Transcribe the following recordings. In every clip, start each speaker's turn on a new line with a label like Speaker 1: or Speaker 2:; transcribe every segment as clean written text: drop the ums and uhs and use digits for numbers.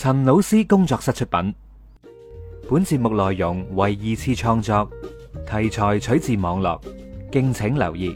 Speaker 1: 陳老師工作室出品，本節目內容為二次創作，題材取自網絡，敬請留意。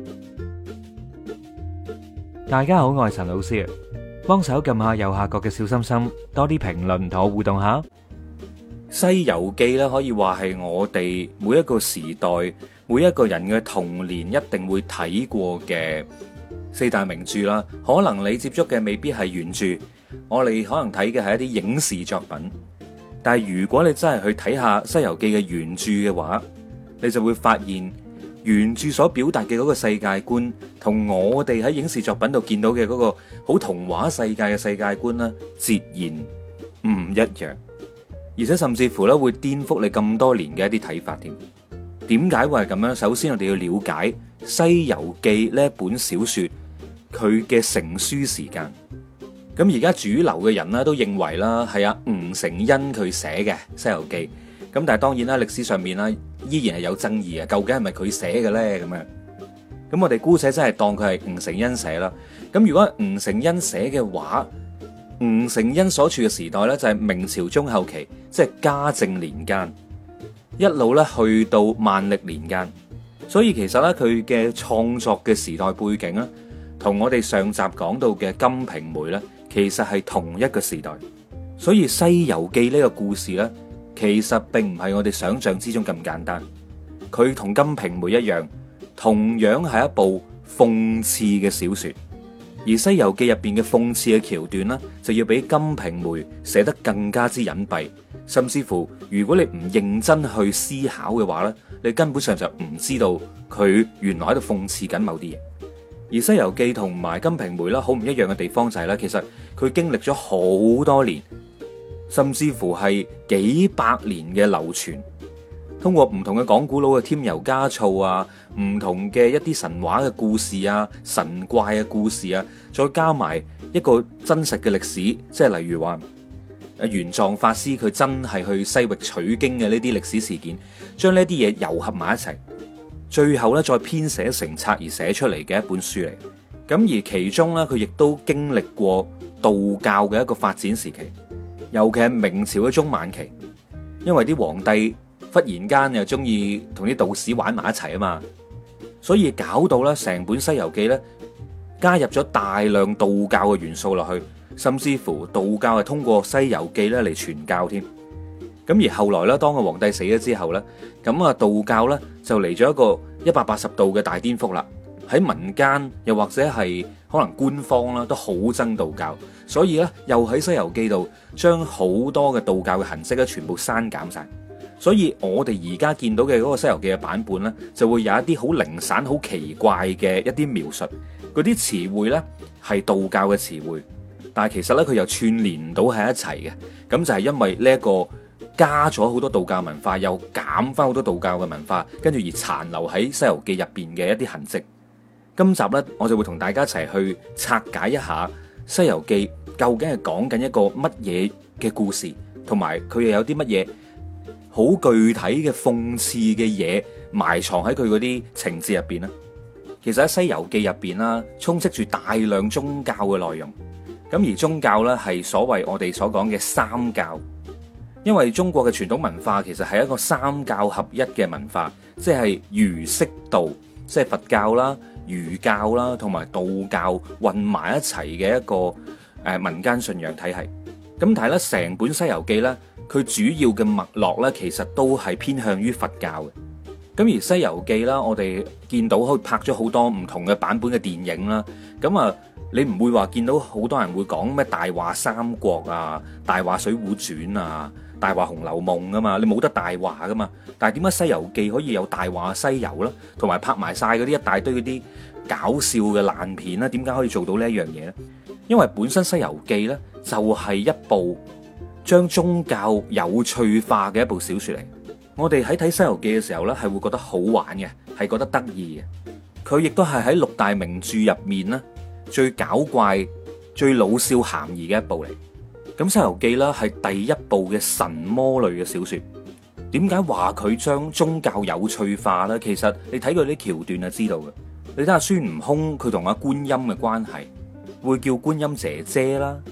Speaker 1: 大家好，我係陳老師，幫手撳下右下角嘅小心心，多啲評論同我互動下。
Speaker 2: 西遊記咧可以話係我哋每一個時代每一個人嘅童年一定會睇過嘅四大名著啦。可能你接觸嘅未必係原著，我哋可能睇嘅係一啲影視作品。但係如果你真係去睇下西遊記嘅原著嘅話，你就會發現原著所表達嘅嗰個世界觀同我哋喺影視作品度見到嘅嗰個好童話世界嘅世界觀咧，截然唔一樣。而且甚至乎咧會顛覆你咁多年嘅一啲睇法添。點解會係咁樣？首先我哋要了解《西遊記》呢一本小說佢嘅成書時間。咁而家主流嘅人咧都認為啦，係阿吳承恩佢寫嘅《西遊記》。咁但係當然啦，歷史上面啦依然係有爭議嘅，究竟係咪佢寫嘅咧？咁樣，咁我哋姑且真係當佢係吳承恩寫啦。咁如果吳承恩寫嘅話，吳承恩所處嘅時代咧就係明朝中後期，即係嘉靖年間，一路咧去到萬曆年間。所以其實咧佢嘅創作嘅時代背景咧，同我哋上集講到嘅《金瓶梅》咧，其實係同一個時代。所以《西遊記》呢個故事咧，其實並唔係我哋想象之中咁簡單。佢同《金瓶梅》一樣，同樣係一部諷刺嘅小說。而《西遊記》入邊嘅諷刺嘅橋段呢，就要比《金瓶梅》寫得更加之隱蔽，甚至乎如果你唔認真去思考嘅話呢，你根本上就唔知道佢原來喺度諷刺緊某啲嘢。而《西遊記》同埋《金瓶梅》啦，好唔一樣嘅地方就係咧，其實佢經歷咗好多年，甚至乎係幾百年嘅流傳。通過唔同嘅講古佬嘅添油加醋啊，唔同嘅一啲神話嘅故事啊、神怪嘅故事啊，再加埋一個真實嘅歷史，即係例如話玄奘法師佢真係去西域取經嘅呢啲歷史事件，將呢啲嘢糅合埋一齊，最後咧再編寫成冊而寫出嚟嘅一本書嚟。咁而其中咧，佢亦都經歷過道教嘅一個發展時期，尤其係明朝嘅中晚期，因為啲皇帝忽然間又中意同啲道士玩埋一齊啊嘛，所以搞到咧成本《西遊記》咧加入咗大量道教嘅元素落去，甚至乎道教係通過《西遊記》咧嚟傳教添。咁而後來咧，當個皇帝死咗之後咧，咁啊道教咧就嚟咗一個180度嘅大顛覆啦。喺民間又或者係可能官方啦，都好憎道教，所以咧又喺《西遊記》度將好多嘅道教嘅痕跡咧全部刪減晒。所以我哋而家見到嘅嗰個《西遊記》嘅版本呢，就會有一啲好零散、好奇怪嘅一啲描述，嗰啲詞彙呢係道教嘅詞彙，但係其實呢，佢又串聯唔到喺一齊嘅。咁就係因為呢一個加咗好多道教文化，又減翻好多道教嘅文化，跟住而殘留喺《西遊記》入邊嘅一啲痕跡。今集呢，我就會同大家一齊去拆解一下《西遊記》究竟係講緊一個乜嘢嘅故事，同埋佢又有啲乜嘢好具體嘅諷刺嘅嘢埋藏喺佢嗰啲情節入邊咧。其實喺《西遊記》入邊啦，充斥住大量宗教嘅內容。咁而宗教咧係所謂我哋所講嘅三教，因為中國嘅傳統文化其實係一個三教合一嘅文化，即係儒釋道，即係佛教啦、儒教啦同埋道教混埋一齊嘅一個民間信仰體系。咁但係咧，成本《西遊記》咧，佢主要嘅脈絡咧，其實都係偏向於佛教嘅。咁而《西遊記》啦，我哋見到佢拍咗好多唔同嘅版本嘅電影啦。咁啊，你唔會話見到好多人會講咩大話三國啊、大話水滸傳啊、大話紅樓夢噶嘛？你冇得大話噶嘛？但係點解《西遊記》可以有大話西遊啦，同埋拍埋晒嗰啲一大堆嗰啲搞笑嘅爛片啦？點解可以做到呢一樣嘢咧？因為本身《西遊記》咧就係一部將宗教有趣化嘅一部小說嚟。我哋喺睇《西遊記》嘅時候咧，係會覺得好玩嘅，係覺得得意嘅。佢亦都係喺六大名著入面咧最搞怪、最老少咸宜嘅一部嚟。咁《西遊記》啦係第一部嘅神魔類嘅小說。點解話佢將宗教有趣化咧？其實你睇佢啲橋段就知道嘅。你睇下孫悟空佢同阿觀音嘅關係，會叫觀音姐姐啦，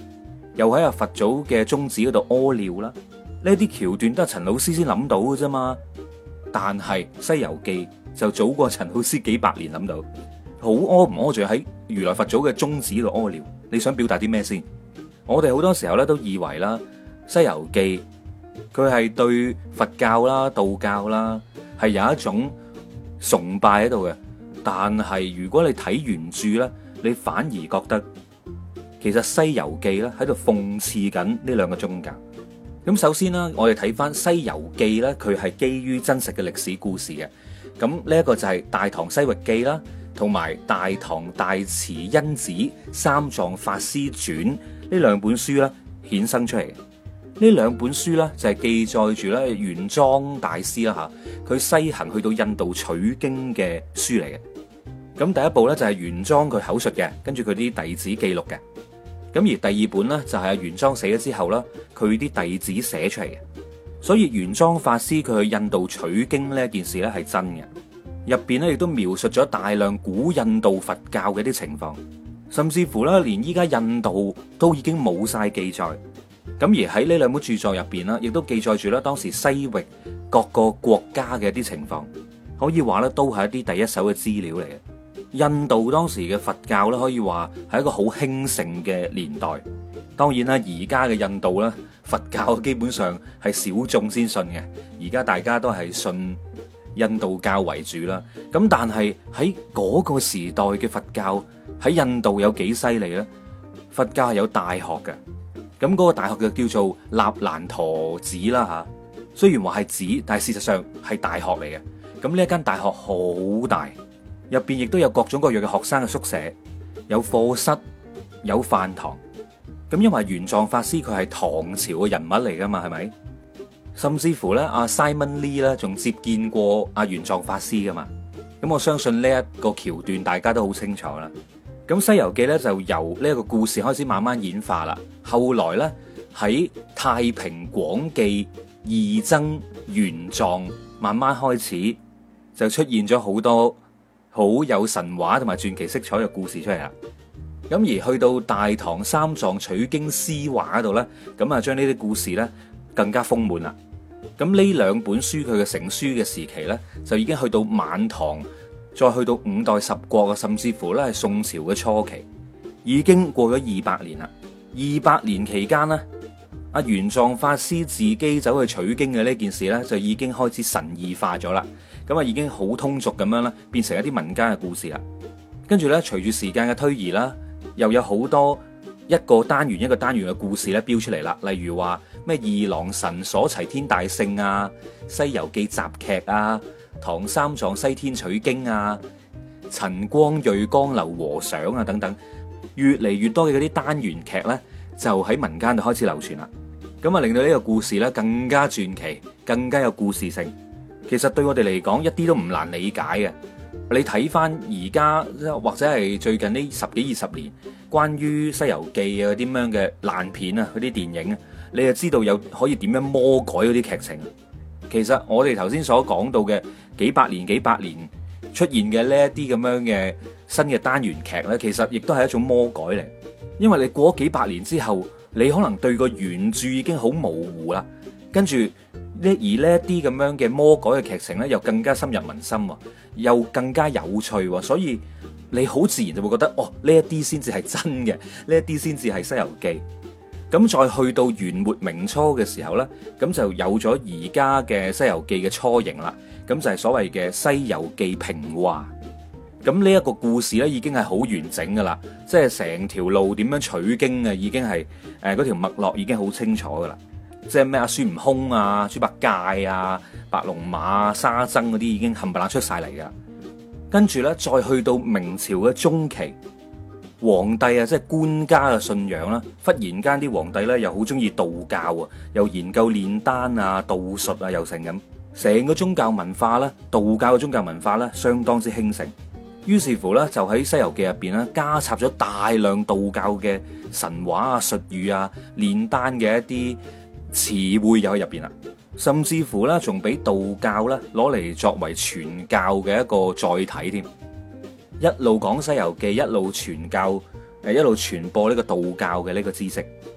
Speaker 2: 又喺阿佛祖嘅宗祠嗰度屙尿啦。呢啲橋段都係陳老師先諗到嘅啫嘛。但係《西遊記》就早過陳老師幾百年諗到。好屙唔屙住喺如來佛祖嘅宗祠度屙尿？你想表達啲咩先？我哋好多時候咧都以為啦，《西遊記》佢係對佛教啦、道教啦係有一種崇拜喺度嘅。但係如果你睇原著咧，你反而覺得其實《西遊記》咧喺度諷刺緊呢兩個宗教。咁首先啦，我哋睇翻《西遊記》咧，佢係基於真實嘅歷史故事嘅。咁呢一個就係《大唐西域記》啦，同埋《大唐大慈恩寺三藏法師傳》呢兩本書咧衍生出嚟嘅。呢兩本書咧就係記載住咧玄奘大師啦吓，佢西行去到印度取經嘅書嚟嘅。咁第一部咧就係玄奘佢口述嘅，跟住佢啲弟子記錄嘅。咁而第二本咧就係阿玄奘死咗之後啦，佢啲弟子寫出嚟嘅。所以玄奘法師佢去印度取經呢件事咧係真嘅。入邊咧亦都描述咗大量古印度佛教嘅啲情況，甚至乎咧連依家印度都已經冇晒記載。咁而喺呢兩本著作入邊啦，亦都記載住咧當時西域各個國家嘅一啲情況，可以話咧都係一啲第一手嘅資料嚟嘅。印度當時嘅佛教咧，可以話係一個好興盛嘅年代。當然啦，而家嘅印度咧，佛教基本上係小眾先信嘅。而家大家都係信印度教為主啦。咁但係喺嗰個時代嘅佛教喺印度有幾犀利咧？佛教係有大學嘅。咁嗰個大學就叫做納蘭陀寺啦吓。雖然話係寺，但係事實上係大學嚟嘅。咁呢一間大學好大。入邊亦都有各種各樣嘅學生嘅宿舍，有課室，有飯堂。咁因為玄奘法師佢係唐朝嘅人物嚟噶嘛，係咪？甚至乎咧，阿 Simon Lee 咧仲接見過阿玄奘法師噶嘛。咁我相信呢一個橋段大家都好清楚啦。咁《西遊記》咧就由呢一個故事開始慢慢演化啦。後來咧喺太平廣記義僧玄奘慢慢開始就出現咗好多好有神話同埋傳奇色彩嘅故事出嚟啦。咁而去到大唐三藏取經詩話嗰度咧，咁啊將呢啲故事咧更加豐滿啦。咁呢兩本書佢嘅成書嘅時期咧，就已經去到晚唐，再去到五代十國啊，甚至乎咧係宋朝嘅初期，已經過咗200年啦。200年期間咧，阿玄奘法師自己走去取經嘅呢件事咧，就已經開始神異化咗啦。咁啊，已經好通俗咁樣啦，變成一啲民間嘅故事啦。跟住咧，隨住時間嘅推移啦，又有好多一個單元一個單元嘅故事咧標出嚟啦。例如話咩二郎神鎖齊天大聖啊、西遊記雜劇啊、唐三藏西天取經啊、陳光瑞江流和尚啊等等，越嚟越多嘅嗰啲單元劇咧，就喺民間度開始流傳啦。咁啊，令到呢個故事咧更加傳奇，更加有故事性。其實對我哋嚟講一啲都唔難理解嘅。你睇翻而家或者係最近呢10幾20年關於《西遊記》啊嗰啲咁樣嘅爛片啊，嗰啲電影啊，你就知道有可以點樣魔改嗰啲劇情。其實我哋頭先所講到嘅幾百年出現嘅呢一啲咁樣嘅新嘅單元劇呢，其實亦都係一種魔改嚟。因為你過咗幾百年之後，你可能對個原著已經好模糊啦，跟住呢一啲咁樣嘅魔改嘅劇情呢，又更加深入民心，又更加有趣，所以你好自然就會覺得，哦，呢一啲先至係真嘅，呢一啲先至係《西遊記》。咁再去到元末明初嘅時候呢，咁就有咗而家嘅《西遊記》嘅雛形啦。咁就係所謂嘅《西遊記平話》。咁呢一個故事呢，已經係好完整噶啦，即係成條路點樣取經啊，已經係嗰條脈絡已經好清楚噶啦。即係咩啊？孫悟空啊、豬八戒啊、白龍馬、沙僧嗰啲已經冚唪唥出晒嚟噶。跟住呢，再去到明朝嘅中期，皇帝啊，即係官家嘅信仰啦。忽然間啲皇帝呢，又好中意道教啊，又研究煉丹啊、道術啊，又成咁。成個宗教文化呢，道教嘅宗教文化呢，相當之興盛。於是乎呢，就喺《西遊記》入邊呢，加插咗大量道教嘅神話啊、術語啊、煉丹嘅一啲詞彙又喺入邊啦，甚至乎咧，仲俾道教咧攞嚟作為傳教嘅一個載體添。一路講《西遊記》，一路傳教，一路傳播呢個道教嘅呢個知識。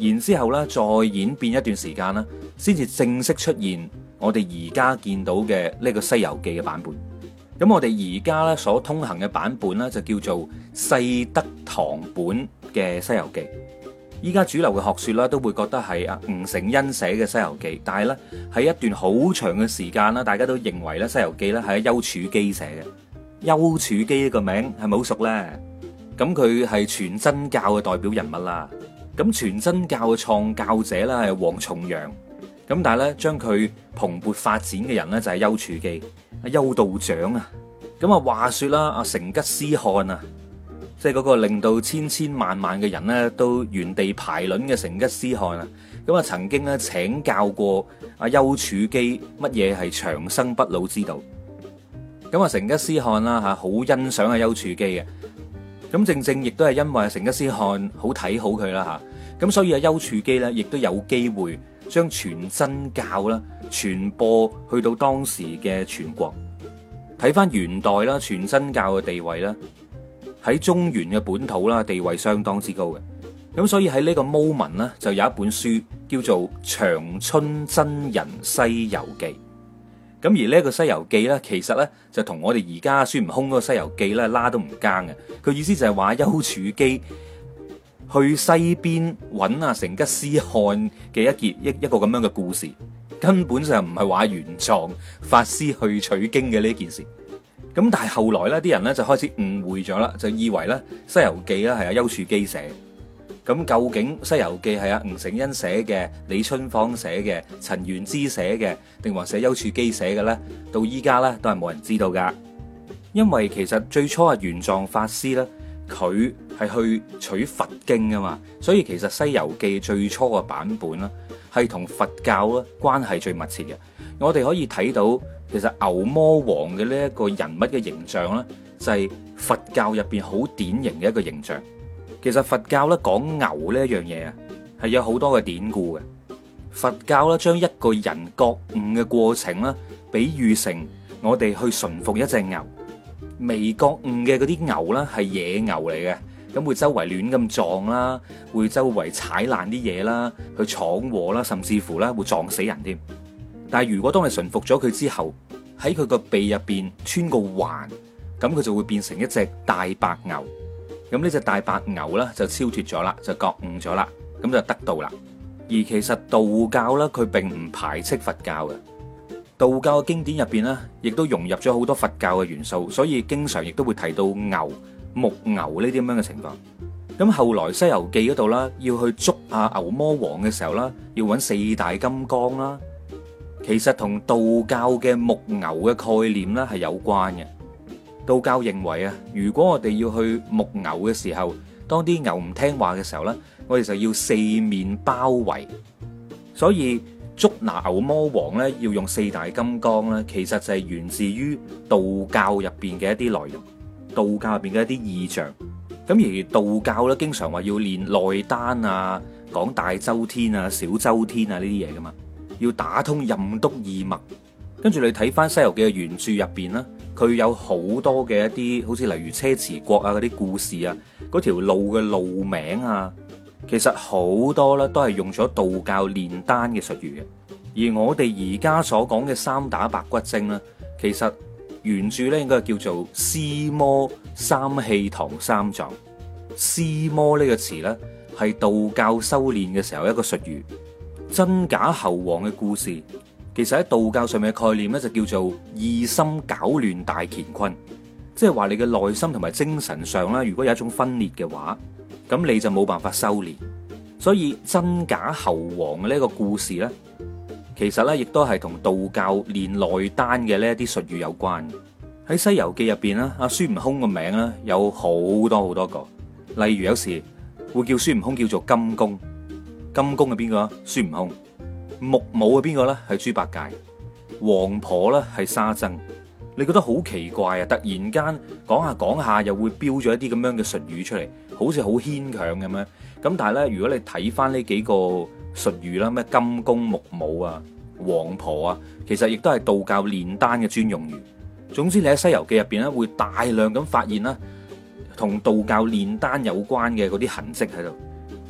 Speaker 2: 然之後咧再演變一段時間啦，先至正式出現我哋而家見到嘅呢個《西遊記》嘅版本。咁我哋而家咧所通行嘅版本咧就叫做世德堂本嘅《西遊記》。依家主流嘅學說啦，都會覺得係吳承恩寫嘅《西遊記》，但係咧喺一段好長嘅時間啦，大家都認為咧《西遊記》咧係丘處機寫嘅。丘處機呢個名係咪好熟咧？咁佢係全真教嘅代表人物啦。咁全真教嘅創教者咧係王重陽。咁但係咧將佢蓬勃發展嘅人咧就係丘處機，丘道長啊。咁話說啦，成吉思汗啊，即係嗰個令到千千萬萬嘅人咧都原地排卵嘅成吉思汗啊。咁曾經咧請教過丘處機乜嘢係長生不老之道。咁成吉思汗啦好欣賞丘處機嘅。咁正正亦都係因為成吉思汗好睇好佢啦吓，咁所以丘處機咧亦都有機會將全真教啦傳播去到當時嘅全國。睇翻元代啦，全真教嘅地位啦喺中原嘅本土啦地位相當之高嘅。咁所以喺呢個 moment 呢，就有一本書叫做《長春真人西遊記》。咁而呢個《西遊記》咧，其實咧就同我哋而家孫悟空嗰個《西遊記》咧拉都唔更嘅。佢意思就係話丘處機去西邊揾成吉思汗嘅一個咁樣嘅故事，根本上唔係話玄奘法師去取經嘅呢件事。咁但係後來咧，啲人咧就開始誤會咗啦，就以為咧《西遊記》咧係丘處機寫。咁究竟《西遊記》係吳承恩寫嘅、李春芳寫嘅、陳元之寫嘅，定還是丘處機寫嘅咧？到依家咧都係冇人知道噶。因為其實最初玄奘法師咧，佢係去取佛經啊嘛，所以其實《西遊記》最初嘅版本啦，係同佛教咧關係最密切嘅。我哋可以睇到，其實牛魔王嘅呢一個人物嘅形象咧，就係佛教入邊好典型嘅一個形象。其實佛教咧講牛呢一樣嘢啊，係有好多嘅典故嘅。佛教咧將一個人覺悟嘅過程啦，比喻成我哋去馴服一隻牛。未覺悟嘅嗰啲牛啦，係野牛嚟嘅，咁會周圍亂咁撞啦，會周圍踩爛啲嘢啦，去闖禍啦，甚至乎咧會撞死人添。但係如果當你馴服咗佢之後，喺佢個鼻入邊穿個環，咁佢就會變成一隻大白牛。咁呢隻大白牛咧就超脫咗啦，就覺悟咗啦，咁就得道啦。而其實道教咧，佢並唔排斥佛教嘅。道教嘅經典入邊咧，亦都融入咗好多佛教嘅元素，所以經常亦都會提到牛、木牛呢啲咁樣嘅情況。咁後來《西遊記》嗰度啦，要去捉牛魔王嘅時候啦，要揾四大金剛啦，其實同道教嘅木牛嘅概念咧係有關嘅。道教認為啊，如果我哋要去牧牛嘅時候，當啲牛唔聽話嘅時候呢，我哋就要四面包圍。所以捉拿牛魔王呢，要用四大金剛呢，其實就係源自於道教入邊嘅一啲內容，道教入邊嘅一啲意象。咁而道教呢，經常話要練內丹啊，講大周天啊、小周天啊呢啲嘢噶嘛，要打通任督二脈。跟住你睇翻《西遊記》嘅原著入邊啦，佢有好多嘅一啲，好似例如車遲國啊嗰啲故事啊，嗰條路嘅路名啊，其實好多咧都係用咗道教煉丹嘅術語嘅。而我哋而家所講嘅三打白骨精咧，其實原著咧應該係叫做屍魔三氣堂三藏。屍魔呢個詞咧係道教修煉嘅時候一個術語。真假猴王嘅故事，其實喺道教上面嘅概念咧就叫做意心攪亂大乾坤，即係話你嘅內心同埋精神上啦，如果有一種分裂嘅話，咁你就冇辦法修煉。所以真假猴王嘅呢個故事咧，其實咧亦都係同道教練內丹嘅呢一啲術語有關。喺《西遊記》入邊咧，阿孫悟空個名咧有好多好多個，例如有時會叫孫悟空叫做金公，金公係邊個啊？孫悟空。木母係邊個咧？係豬八戒。王婆咧係沙僧。你覺得好奇怪啊？突然間講下講下又會標咗一啲咁樣嘅術語出嚟，好似好牽強咁樣。咁但係咧，如果你睇翻呢幾個術語啦，咩金公、木母啊、王婆啊，其實亦都係道教煉丹嘅專用語。總之你喺《西遊記》入邊咧，會大量咁發現啦，同道教煉丹有關嘅嗰啲痕跡喺度。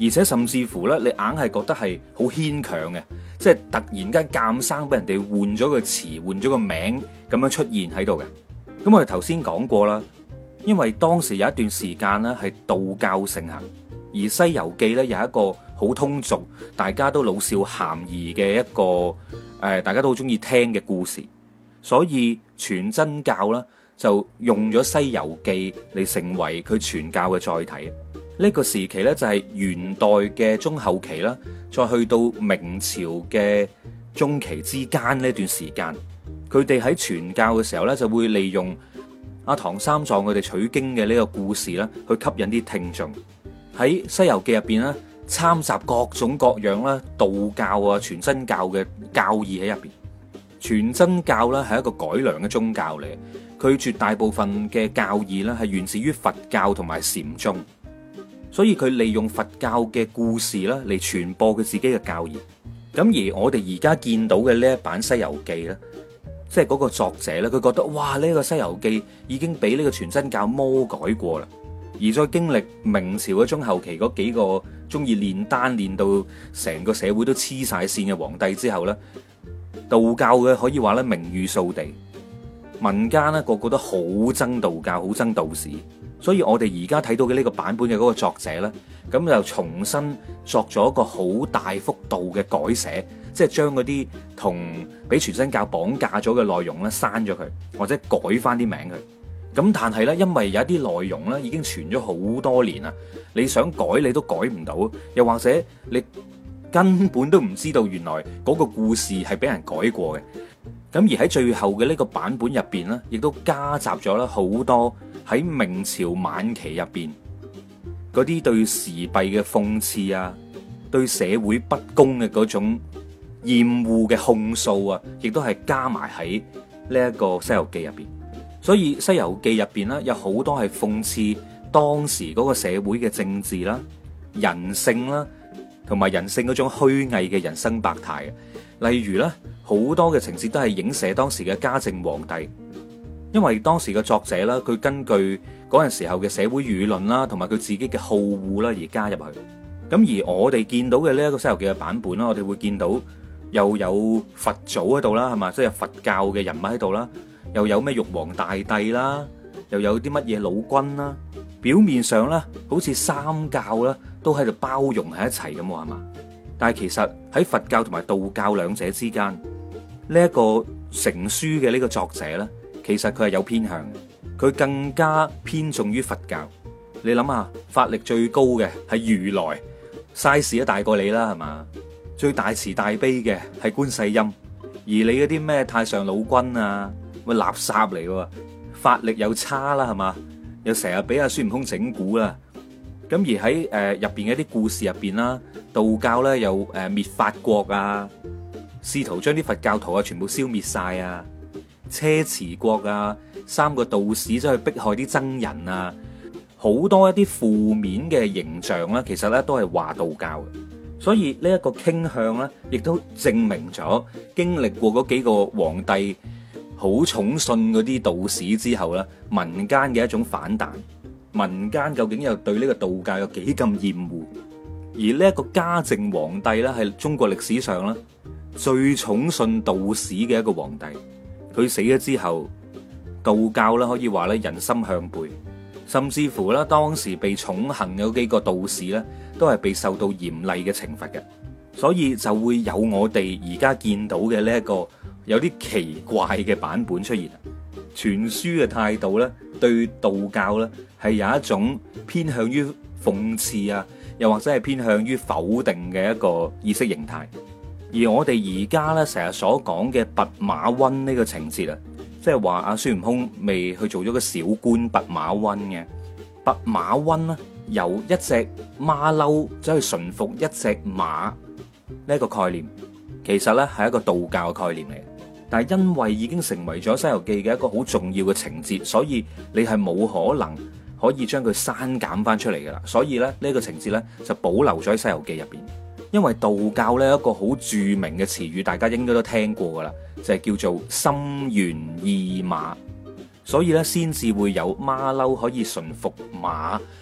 Speaker 2: 而且甚至乎呢，你硬係覺得係好牽強嘅，即係突然間鑑生俾人哋換咗個詞，換咗個名咁樣出現喺度嘅。咁我哋頭先講過啦，因為當時有一段時間呢係道教盛行，而《西遊記》呢有一個好通俗，大家都老少咸宜嘅一個大家都好中意聽嘅故事，所以全真教啦就用咗《西遊記》嚟成為佢傳教嘅載體。呢個時期呢，就係元代嘅中後期啦，再去到明朝嘅中期之間呢段時間，佢哋喺傳教嘅時候呢，就會利用阿唐三藏佢哋取經嘅呢個故事啦，去吸引啲聽眾。喺《西遊記》入邊呢，參雜各種各樣啦，道教啊、全真教嘅教義喺入邊。全真教呢係一個改良嘅宗教嚟，佢絕大部分嘅教義呢係源自於佛教同埋禪宗。所以佢利用佛教嘅故事啦，嚟傳播佢自己嘅教義。咁而我哋而家見到嘅呢一版《西遊記》咧，即係嗰個作者咧，佢覺得哇，呢個《西遊記》已經俾呢個全真教魔改過啦。而再經歷明朝嘅中後期嗰幾個中意煉丹煉到成個社會都黐晒線嘅皇帝之後咧，道教嘅可以話咧名譽掃地，民間咧個個都好憎道教，好憎道士。所以我哋而家睇到嘅呢個版本嘅嗰個作者呢，咁就重新作咗一個好大幅度嘅改寫，即係將嗰啲同俾全真教綁架咗嘅內容呢刪咗佢，或者改翻啲名佢。咁但係呢，因為有一啲內容呢已經傳咗好多年啦，你想改你都改唔到，又或者你根本都唔知道原來嗰個故事係俾人改過嘅。咁而喺最後嘅呢個版本入邊呢，亦都加雜咗啦好多喺明朝晚期入邊嗰啲對時弊嘅諷刺啊，對社會不公嘅嗰種厭惡嘅控訴啊，亦都係加埋喺呢一個《西遊記》入邊。所以《西遊記》入邊呢，有好多係諷刺當時嗰個社會嘅政治啦、人性啦，同埋人性嗰種虛偽嘅人生百態嘅。例如咧，好多嘅情節都係影射當時嘅嘉靖皇帝，因為當時嘅作者啦，佢根據嗰陣時候嘅社會輿論啦，同埋佢自己嘅好惡啦而加入去。咁而我哋見到嘅呢一個《西遊記》嘅版本啦，我哋會見到又有佛祖喺度啦，係嘛，即係佛教嘅人物喺度啦，又有咩玉皇大帝啦，又有啲乜嘢老君啦，表面上咧好似三教啦都喺度包容喺一齊咁，係嘛？但係其實喺佛教同埋道教兩者之間，呢一個成書嘅呢個作者呢，其實佢係有偏向嘅，佢更加偏重於佛教。你諗下，法力最高嘅係如來，size 都大過你啦，係嘛？最大慈大悲嘅係觀世音，而你嗰啲咩太上老君啊，咪垃圾嚟喎，法力又差啦，係嘛？又成日俾阿孫悟空整蠱啦。咁而喺入邊嘅一啲故事入邊啦，道教咧又滅法國啊，試圖將啲佛教徒啊全部消滅晒啊，車遲國啊，三個道士走去迫害啲僧人啊，好多一啲負面嘅形象啦，其實咧都係話道教嘅。所以呢一個傾向咧，亦都證明咗經歷過嗰幾個皇帝好寵信嗰啲道士之後咧，民間嘅一種反彈。民間究竟又對呢個道教有幾咁厭惡？而呢一個嘉靖皇帝咧，係中國歷史上咧最寵信道士嘅一個皇帝。佢死咗之後，道教咧可以話咧人心向背，甚至乎咧當時被寵幸嘅幾個道士咧，都係被受到嚴厲嘅懲罰嘅。所以就會有我哋而家見到嘅呢一個有啲奇怪嘅版本出現。傳書嘅態度咧，對道教咧係有一種偏向於諷刺啊，又或者係偏向於否定嘅一個意識形態。而我哋而家咧成日所講嘅弼馬溫呢個情節啊，即係話阿孫悟空未去做咗個小官弼馬溫嘅。弼馬溫咧由一隻馬騮走去馴服一隻馬呢一個概念，其實咧係一個道教嘅概念嚟。但係因為已經成為咗《西遊記》嘅一個好重要嘅情節，所以你係冇可能可以將佢刪減翻出嚟噶啦。所以咧呢個情節咧就保留咗喺《西遊記》入邊。因為道教咧一個好著名嘅詞語，大家應該都聽過噶啦，就係叫做心猿意馬。所以咧先至會有馬騮可以馴服馬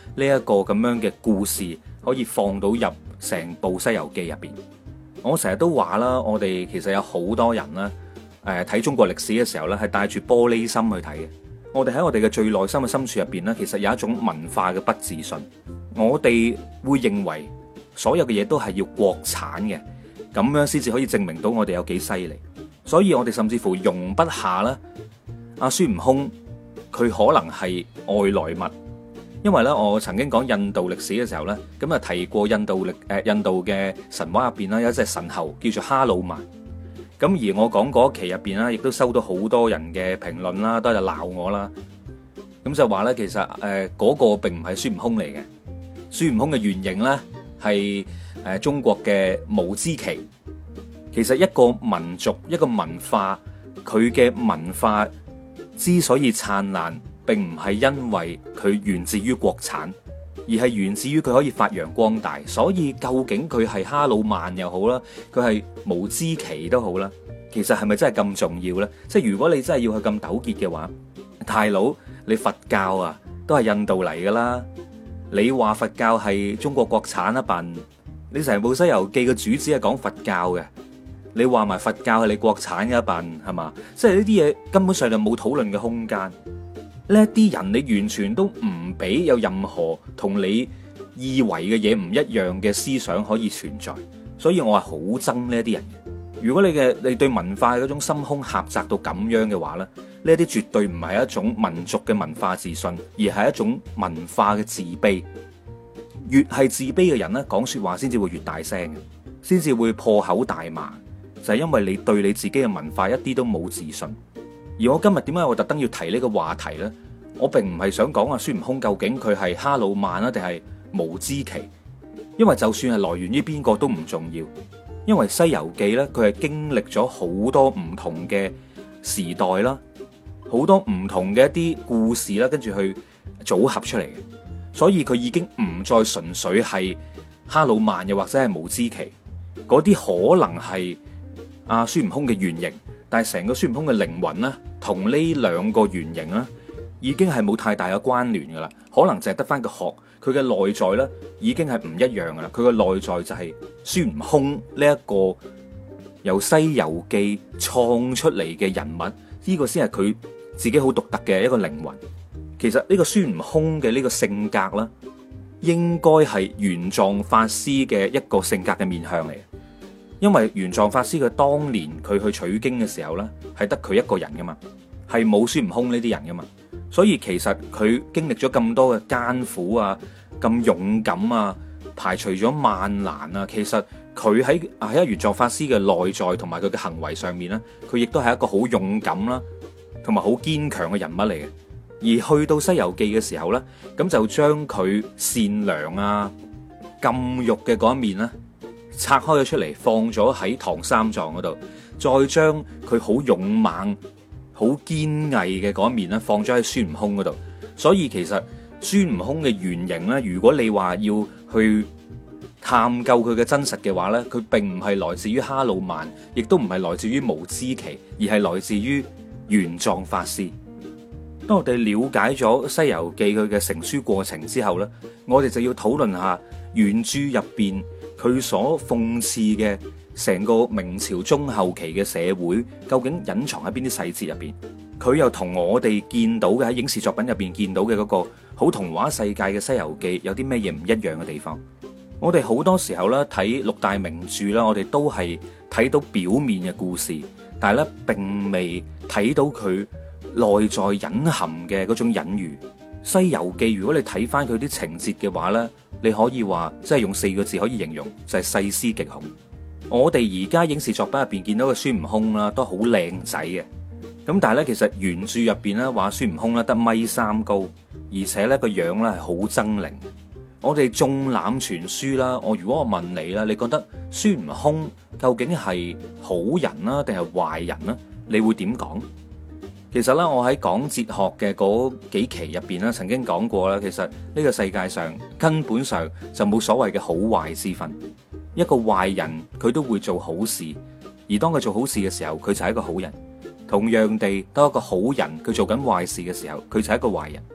Speaker 2: 呢一個咁樣嘅故事可以放到入成部《西遊記》入邊。我成日都話啦，我哋其實有好多人啦，睇中國歷史嘅時候咧，係帶住玻璃心去睇嘅。我哋喺我哋嘅最內心嘅深處入邊咧，其實有一種文化嘅不自信。我哋會認為所有嘅嘢都係要國產嘅，咁樣先至可以證明到我哋有幾犀利。所以我哋甚至乎容不下啦，阿孫悟空佢可能係外來物。因為咧，我曾經講印度歷史嘅時候咧，咁啊提過印度嘅神話入邊啦，有一隻神猴叫做哈魯曼。咁而我講嗰期入邊啦，亦都收到好多人嘅評論啦，都係鬧我啦。咁就話咧，其實嗰個並唔係孫悟空嚟嘅，孫悟空嘅原型咧係中國嘅無支祁。其實一個民族一個文化，佢嘅文化之所以燦爛，並唔係因為佢源自於國產，而係源自於佢可以發揚光大。所以究竟佢係哈魯曼又好啦，佢係無支祁都好啦，其實係咪真係咁重要呢？即係如果你真係要去咁糾結嘅話，大佬你佛教啊都係印度嚟噶啦，你話佛教係中國國產啊笨？你成部《西遊記》嘅主旨係講佛教嘅，你話埋佛教係你國產嘅一笨係嘛？即係呢啲嘢根本上就冇討論嘅空間。呢一啲人你完全都唔俾有任何同你以為嘅嘢唔一樣嘅思想可以存在，所以我係好憎呢一啲人。如果你對文化嗰種心胸狹窄到咁樣嘅話咧，呢一啲絕對唔係一種民族嘅文化自信，而係一種文化嘅自卑。越係自卑嘅人咧，講說話先至會越大聲，先至會破口大罵，就係因為你對你自己嘅文化一啲都冇自信。而我今日點解我特登要提呢個話題呢？我並唔係想講孫悟空究竟佢係哈魯曼啊定係無支祁，因為就算係來源於邊個都唔重要。因為《西遊記》呢，佢係經歷咗好多唔同嘅時代啦，好多唔同嘅一啲故事啦，跟住去組合出嚟嘅，所以佢已經唔再純粹係哈魯曼又或者係無支祁，嗰啲可能係阿孫悟空嘅原型。但係成個孫悟空嘅靈魂咧，同呢兩個原型咧，已經係冇太大嘅關聯噶啦。可能淨係得翻個殼，佢嘅內在咧已經係唔一樣噶啦。佢嘅內在就係孫悟空呢一個由《西遊記》創出嚟嘅人物，呢個先係佢自己好獨特嘅一個靈魂。其實呢個孫悟空嘅呢個性格啦，應該係玄奘法師嘅一個性格嘅面向嚟。因為玄奘法師佢當年佢去取經嘅時候呢，係得佢一個人噶嘛，係冇孫悟空呢啲人噶嘛，所以其實佢經歷咗咁多嘅艱苦啊，咁勇敢啊，排除咗萬難啊，其實佢喺玄奘法師嘅內在同埋佢嘅行為上面呢，佢亦都係一個好勇敢啦，同埋好堅強嘅人物嚟嘅。而去到《西遊記》嘅時候呢，咁就將佢善良啊、禁欲嘅嗰一面呢，拆開咗出嚟，放咗喺唐三藏嗰度，再將佢好勇猛、好堅毅嘅嗰一面咧，放咗喺孫悟空嗰度。所以其實孫悟空嘅原型咧，如果你話要去探究佢嘅真實嘅話咧，佢並唔係來自於哈魯曼，亦都唔係來自於無支祁，而係來自於玄奘法師。當我哋了解咗《西遊記》佢嘅成書過程之後咧，我哋就要討論下原著入邊佢所諷刺嘅成個明朝中後期嘅社會，究竟隱藏喺邊啲細節入邊？佢又同我哋見到嘅喺影視作品入邊見到嘅嗰個好童話世界嘅《西遊記》有啲咩嘢唔一樣嘅地方？我哋好多時候咧睇六大名著啦，我哋都係睇到表面嘅故事，但係咧並未睇到佢內在隱含嘅嗰種隱喻。《西遊記》如果你睇翻佢啲情節嘅話呢，你可以話即係用4個字可以形容，就係細思極恐。我哋而家影視作品入邊見到嘅孫悟空啦，都好靚仔嘅。咁但係呢，其實原著入邊咧話孫悟空咧得1.3米高，而且呢個樣咧係好猙獰。我哋縱覽全書啦，如果我問你啦，你覺得孫悟空究竟係好人啦定係壞人啦？你會點講？其實咧，我喺講哲學嘅嗰幾期入邊咧，曾經講過啦。其實呢個世界上根本上就冇所謂嘅好壞之分。一個壞人佢都會做好事，而當佢做好事嘅時候，佢就係一個好人。同樣地，當一個好人佢做緊壞事嘅時候，佢就係一個壞人。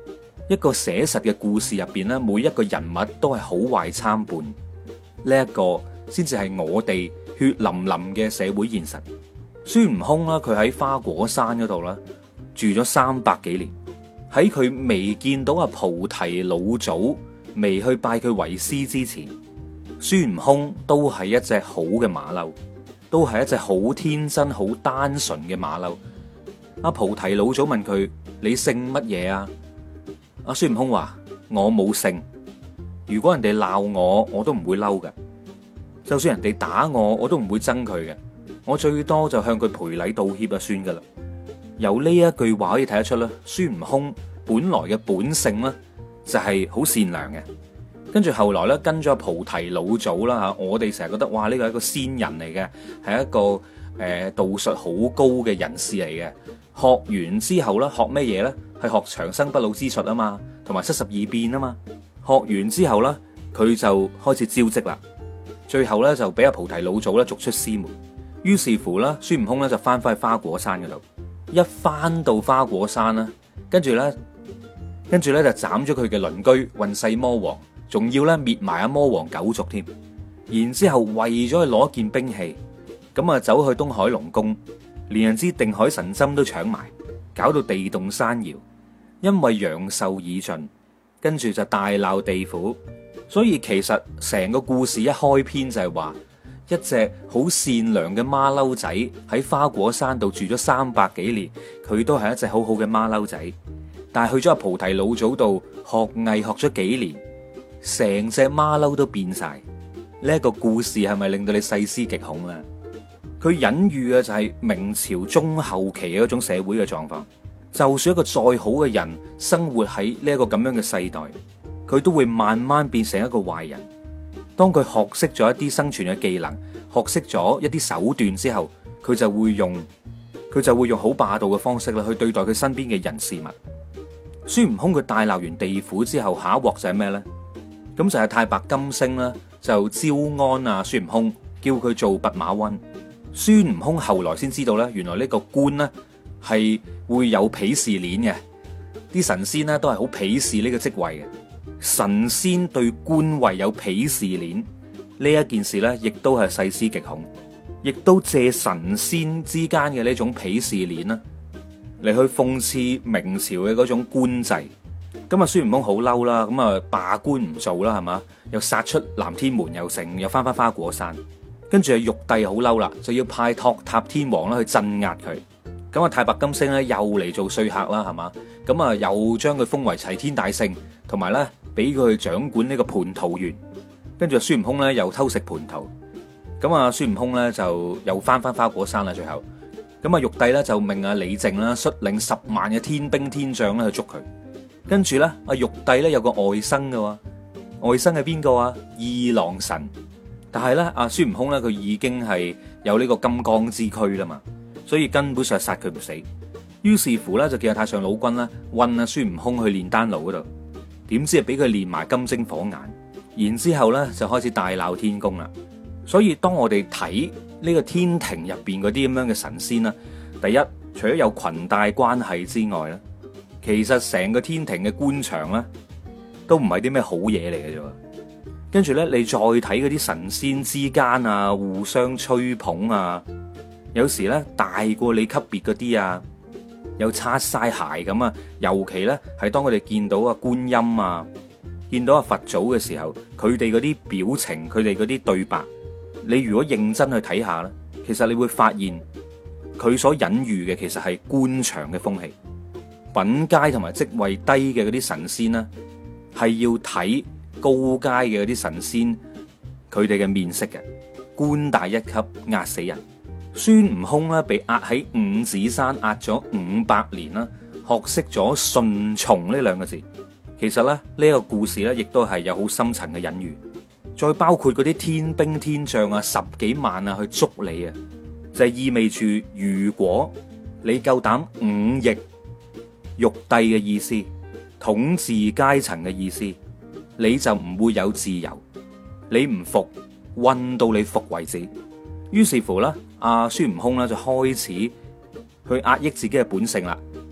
Speaker 2: 一個寫實嘅故事入邊咧，每一個人物都係好壞參半，呢一個先至係我哋血淋淋嘅社會現實。孫悟空啦，佢喺花果山嗰度啦，住咗300幾年。喺佢未見到阿菩提老祖，未去拜佢為師之前，孫悟空都係一隻好嘅馬騮，都係一隻好天真、好單純嘅馬騮。阿菩提老祖問佢：你姓乜嘢啊？阿孫悟空話：我冇姓。如果人哋鬧我，我都唔會嬲㗎。就算人哋打我，我都唔會憎佢嘅。我最多就向佢賠禮道歉就算噶啦。由呢一句話可以睇得出啦，孫悟空本來嘅本性咧就係好善良嘅。跟住後來咧跟咗菩提老祖啦吓，我哋成日覺得哇呢個係一個仙人嚟嘅，係一個道術好高嘅人士嚟嘅。學完之後咧學咩嘢咧？係學長生不老之術啊嘛，同埋72變啊嘛。學完之後咧佢就開始招積啦，最後咧就俾阿菩提老祖咧逐出師門。於是乎啦，孫悟空咧就翻返去花果山嗰度。一翻到花果山啦，跟住咧就斬咗佢嘅鄰居混世魔王，仲要咧滅埋阿魔王九族添。然之後為咗去攞件兵器，咁啊走去東海龍宮，連人支定海神針都搶埋，搞到地動山搖。因為陽壽已盡，跟住就大鬧地府。所以其實成個故事一開篇就係話，一隻好善良嘅馬騮仔喺花果山度住咗300幾年，佢都係一隻好好嘅馬騮仔。但係去咗阿菩提老祖度學藝學咗幾年，成隻馬騮都變晒。呢一個故事係咪令到你細思極恐啊？佢隱喻嘅就係明朝中後期嘅一種社會嘅狀況。就算一個再好嘅人生活喺呢一個咁樣嘅世代，佢都會慢慢變成一個壞人。當佢學識咗一啲生存嘅技能，學識咗一啲手段之後，佢就會用好霸道嘅方式啦去對待佢身邊嘅人事物。孫悟空佢大鬧完地府之後，下一鑊就係咩呢？咁就係太白金星啦，就招安啊孫悟空，叫佢做弼馬溫。孫悟空後來先知道咧，原來呢個官呢係會有鄙視鏈嘅，啲神仙呢都係好鄙視呢個職位嘅。神仙對官位有鄙視鏈呢一件事呢，亦都係細思極恐，亦都借神仙之間嘅呢種鄙視鏈啦，嚟去諷刺明朝嘅嗰種官制。咁啊，孫悟空好嬲啦，咁啊罷官唔做啦，係嘛，又殺出南天門，又成，又翻花果山。跟住啊，玉帝好嬲啦，就要派托塔天王啦去鎮壓佢。咁啊，太白金星咧又嚟做說客啦，係嘛，咁啊又將佢封為齊天大聖，同埋咧俾佢去掌管呢個蟠桃園。跟住孫悟空咧又偷食蟠桃，咁啊孫悟空咧就又翻花果山啦。最後咁啊，玉帝咧就命阿李靖啦率領10萬嘅天兵天將咧去捉佢。跟住咧阿玉帝咧有個外甥嘅，外甥係邊個啊？二郎神。但係咧阿孫悟空咧佢已經係有呢個金剛之軀啦嘛，所以根本上殺佢唔死。於是乎咧就叫阿太上老君啦運阿孫悟空去煉丹爐嗰度，點知係俾佢煉埋金睛火眼，然之後咧就開始大鬧天宮啦。所以當我哋睇呢個天庭入邊嗰啲咁樣嘅神仙啦，第一除咗有裙帶關係之外咧，其實成個天庭嘅官場咧都唔係啲咩好嘢嚟嘅啫。跟住咧，你再睇嗰啲神仙之間啊，互相吹捧啊，有時咧大過你級別嗰啲啊，又擦晒鞋咁啊。尤其咧係當佢哋見到啊觀音啊，見到啊佛祖嘅時候，佢哋嗰啲表情，佢哋嗰啲對白，你如果認真去睇下咧，其實你會發現佢所隱喻嘅其實係官場嘅風氣。品階同埋職位低嘅嗰啲神仙呢，係要睇高階嘅嗰啲神仙佢哋嘅面色嘅。官大一級壓死人。孫悟空咧被壓喺五指山壓咗500年啦，學識咗順從呢兩個字。其實咧呢個故事咧亦都係有好深層嘅隱喻。再包括嗰啲天兵天將啊10幾萬啊去捉你啊，就係意味住如果你夠膽忤逆玉帝嘅意思，統治階層嘅意思，你就唔會有自由。你唔服，運到你服為止。於是乎咧，阿孫悟空咧就開始去壓抑自己嘅本性啦，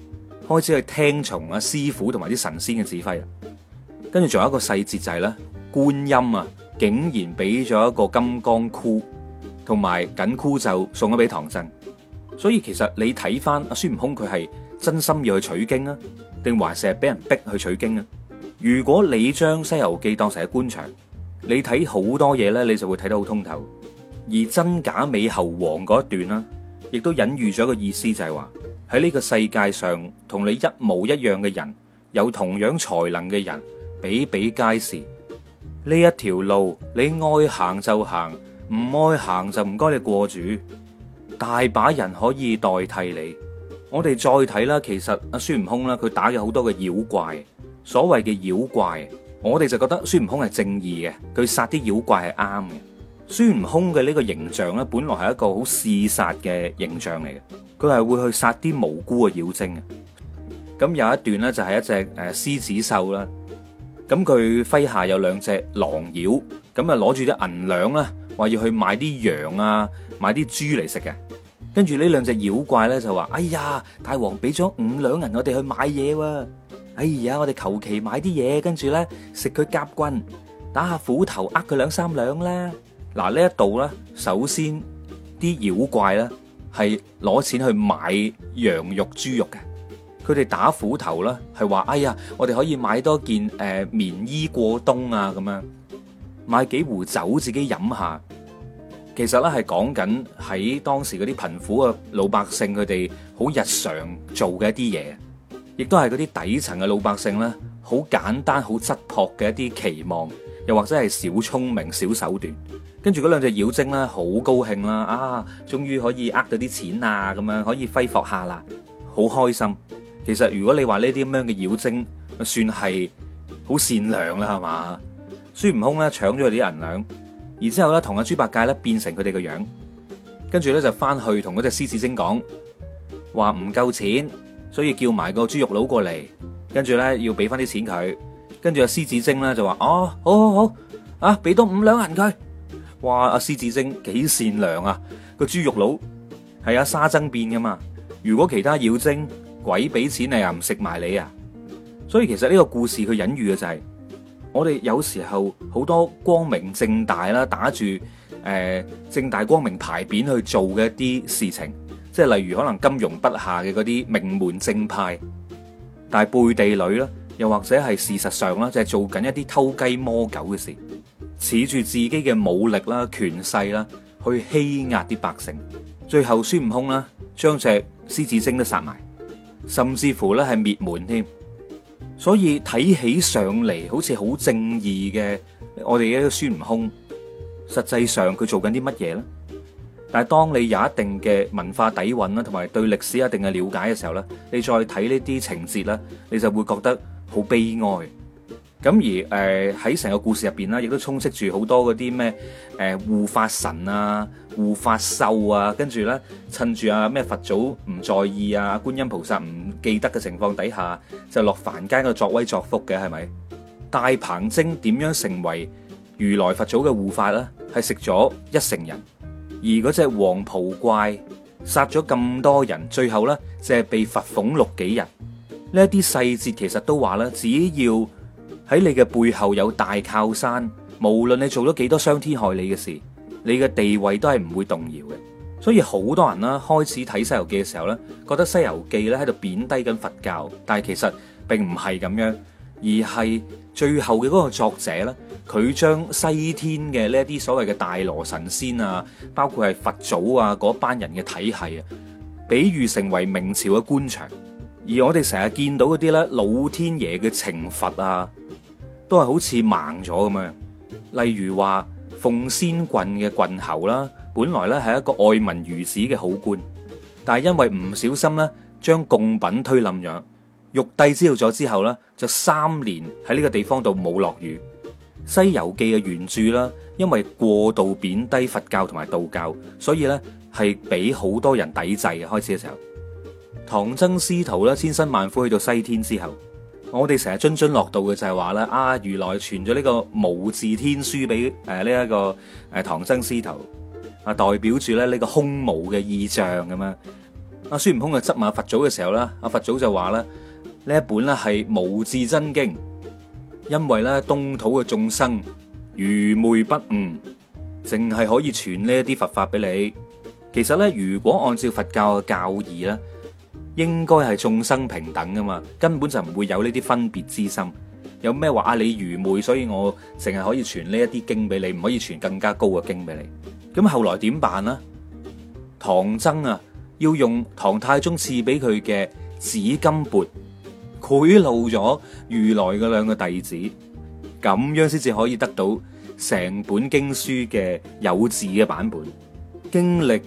Speaker 2: 開始去聽從啊師傅同埋啲神仙嘅指揮啦。跟住仲有一個細節就係咧，觀音啊，竟然俾咗一個金剛箍同埋緊箍咒送咗俾唐僧。所以其實你睇翻阿孫悟空佢係真心要去取經啊，定還是係俾人逼去取經啊？如果你將《西遊記》當成係官場，你睇好多嘢咧，你就會睇得好通透。而真假美猴王嗰一段啦，亦都隱喻咗一個意思，就係話喺呢個世界上，同你一模一樣嘅人，有同樣才能嘅人，比比皆是。呢一條路你愛行就行，唔愛行就唔該你過住。大把人可以代替你。我哋再睇啦，其實阿孫悟空啦，佢打咗好多嘅妖怪。所謂嘅妖怪，我哋就覺得孫悟空係正義嘅，佢殺啲妖怪係啱嘅。孫悟空嘅呢個形象咧，本來係一個好嗜殺嘅形象嚟嘅，佢係會去殺啲無辜嘅妖精嘅。咁有一段咧就係一隻獅子獸啦，咁佢麾下有兩隻狼妖，咁啊攞住啲銀兩啦，話要去買啲羊啊，買啲豬嚟食嘅。跟住呢兩隻妖怪咧就話：哎呀，大王俾咗5兩銀我哋去買嘢喎。哎呀，我哋求其買啲嘢，跟住咧食佢夾棍，打下斧頭，呃佢2-3兩啦。嗱，呢一度咧，首先啲妖怪咧係攞錢去買羊肉、豬肉嘅。佢哋打斧頭啦，係話：哎呀，我哋可以買多件棉衣過冬啊，咁樣買幾壺酒自己飲下。其實咧係講緊喺當時嗰啲貧苦嘅老百姓，佢哋好日常做嘅一啲嘢，亦都係嗰啲底層嘅老百姓咧，好簡單、好質樸嘅一啲期望，又或者係小聰明、小手段。跟住嗰兩隻妖精咧，好高興啦！啊，終於可以呃到啲錢啊，咁樣可以揮霍下啦，好開心。其實如果你話呢啲咁樣嘅妖精，算係好善良啦，係嘛？孫悟空咧搶咗佢啲銀兩。然之後咧，同阿豬八戒咧變成佢哋個樣，跟住咧就翻去同嗰隻獅子精講，話唔夠錢，所以叫埋個豬肉佬過嚟，跟住咧要俾翻啲錢佢。跟住阿獅子精咧就話：哦，好，啊，俾多5兩銀佢。哇！阿獅子精幾善良啊！個豬肉佬係阿沙僧變噶嘛？如果其他妖精鬼俾錢你又唔食埋你啊？所以其實呢個故事佢隱喻嘅就係。我哋有時候好多光明正大啦，打住正大光明牌匾去做嘅一啲事情，即係例如可能金庸筆下嘅嗰啲名門正派，但係背地裏啦，又或者係事實上啦，就係做緊一啲偷雞摸狗嘅事，恃住自己嘅武力啦、權勢啦，去欺壓啲百姓。最後孫悟空啦，將隻獅子精都殺埋，甚至乎咧係滅門添。所以睇起上嚟好似好正義嘅，我哋嘅一個孫悟空，實際上佢做緊啲乜嘢咧？但係當你有一定嘅文化底蘊啦，同埋對歷史一定嘅了解嘅時候咧，你再睇呢啲情節咧，你就會覺得好悲哀。咁而喺成個故事入邊咧，亦都充斥住好多嗰啲咩護法神啊、護法獸啊，跟住咧趁住啊咩佛祖唔在意啊、觀音菩薩唔記得嘅情況底下，就落凡間度作威作福嘅，係咪？大鵬精點樣成為如來佛祖嘅護法咧？係食咗1成人，而嗰隻黃袍怪殺咗咁多人，最後咧就係被罰俸6幾日。呢一啲細節其實都話啦，只要喺你嘅背後有大靠山，無論你做咗幾多傷天害理嘅事，你嘅地位都係唔會動搖嘅。所以好多人啦，開始睇《西遊記》嘅時候咧，覺得《西遊記》咧喺度貶低緊佛教，但係其實並唔係咁樣，而係最後嘅嗰個作者咧，佢將西天嘅呢一啲所謂嘅大羅神仙啊，包括係佛祖啊嗰班人嘅體系啊，比喻成為明朝嘅官場。而我哋成日見到嗰啲咧老天爺嘅懲罰啊，都係好似盲咗咁樣。例如話鳳仙郡嘅郡侯啦，本來咧係一個愛民如子嘅好官，但係因為唔小心咧將貢品推冧咗，玉帝知道咗之後咧，就3年喺呢個地方度冇落雨。西遊記嘅原著啦，因為過度貶低佛教同埋道教，所以咧係俾好多人抵制嘅。開始嘅時候，唐僧師徒咧千辛萬苦去到西天之後，我哋成日津津樂道嘅就係話咧，啊如來傳咗呢個無字天書俾呢一個唐僧師徒，啊代表住咧呢個空無嘅意象咁樣。 阿孫悟空嘅執馬佛祖嘅時候啦，阿佛祖就話啦，呢一本咧係無字真經，因為咧東土嘅眾生愚昧不悟，淨係可以傳呢一啲佛法俾你。其實咧，如果按照佛教嘅教義咧，應該係眾生平等噶嘛，根本就唔會有呢啲分別之心。有咩話啊？你愚昧，所以我淨係可以傳呢一啲經俾你，唔可以傳更加高嘅經俾你。咁後來點辦呢？唐僧啊，要用唐太宗賜俾佢嘅紫金缽賄賂咗如來嘅兩個弟子，咁樣先至可以得到成本經書嘅有字嘅版本。經歷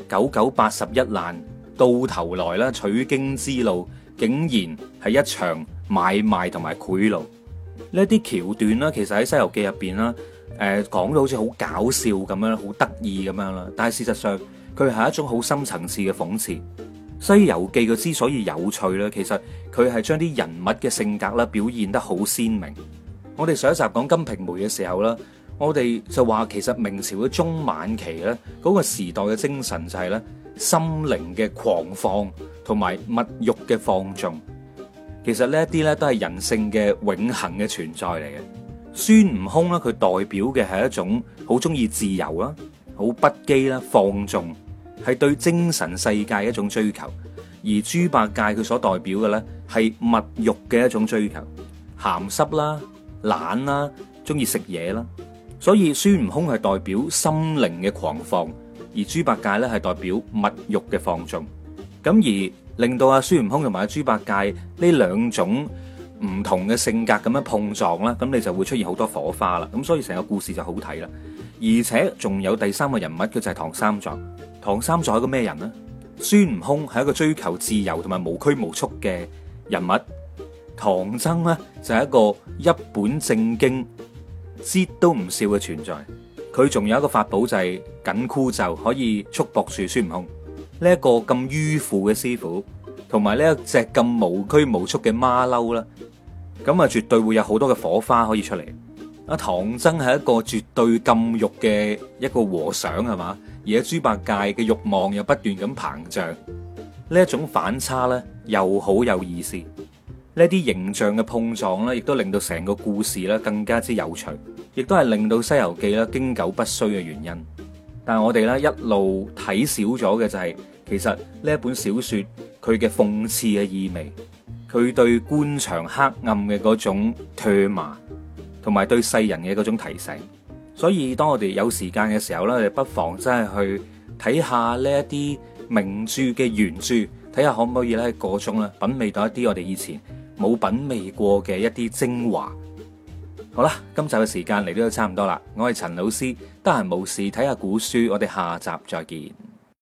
Speaker 2: 981難，到頭來啦，取經之路竟然係一場買賣同埋賄賂。呢啲橋段啦，其實喺《西遊記》入邊啦，講到好似好搞笑咁樣，好得意咁樣啦。但係事實上，佢係一種好深層次嘅諷刺。《西遊記》佢之所以有趣咧，其實佢係將啲人物嘅性格啦表現得好鮮明。我哋上一集講《金瓶梅》嘅時候啦，我哋就話其實明朝嘅中晚期咧，嗰個時代嘅精神就係咧心靈嘅狂放同埋物欲嘅放縱。其實呢一啲咧都係人性嘅永恆嘅存在嚟嘅。孫悟空咧，佢代表嘅係一種好中意自由啦、好不羈啦、放縱，係對精神世界一種追求。而豬八戒佢所代表嘅咧係物欲嘅一種追求，鹹濕啦、懶啦、中意食嘢啦。所以孫悟空係代表心靈嘅狂放，而豬八戒咧係代表物欲嘅放縱。咁而令到阿孫悟空同埋阿豬八戒呢兩種唔同嘅性格咁樣碰撞啦，咁你就會出現好多火花啦。咁所以成個故事就好睇啦。而且仲有第三個人物，佢就係唐三藏。唐三藏係個咩人呢？孫悟空係一個追求自由同埋無拘無束嘅人物，唐僧呢就係一個一本正經、節都唔笑嘅存在。佢仲有一個法寶就係緊箍咒，可以束縛住孫悟空。呢一個咁迂腐嘅師傅，同埋呢一隻咁無拘無束嘅馬騮啦，咁啊絕對會有好多嘅火花可以出嚟。阿唐僧係一個絕對禁欲嘅一個和尚係嘛，而阿豬八戒嘅欲望又不斷咁膨脹，呢一種反差咧又好有意思。呢啲形象嘅碰撞咧，亦都令到成個故事咧更加之有趣，亦都係令到《西遊記》咧經久不衰嘅原因。但係我哋咧一路睇少咗嘅就係，其實呢一本小說佢嘅諷刺嘅意味，佢對官場黑暗嘅嗰種唾罵，同埋對世人嘅嗰種提醒。所以當我哋有時間嘅時候咧，我哋不妨真係去睇下呢一啲名著嘅原著，睇下可唔可以咧喺個中咧品味到一啲我哋以前冇品味過嘅一啲精華。好啦，今集嘅時間嚟到都差唔多啦，我係陳老師，得閒無事睇下古書，我哋下集再見。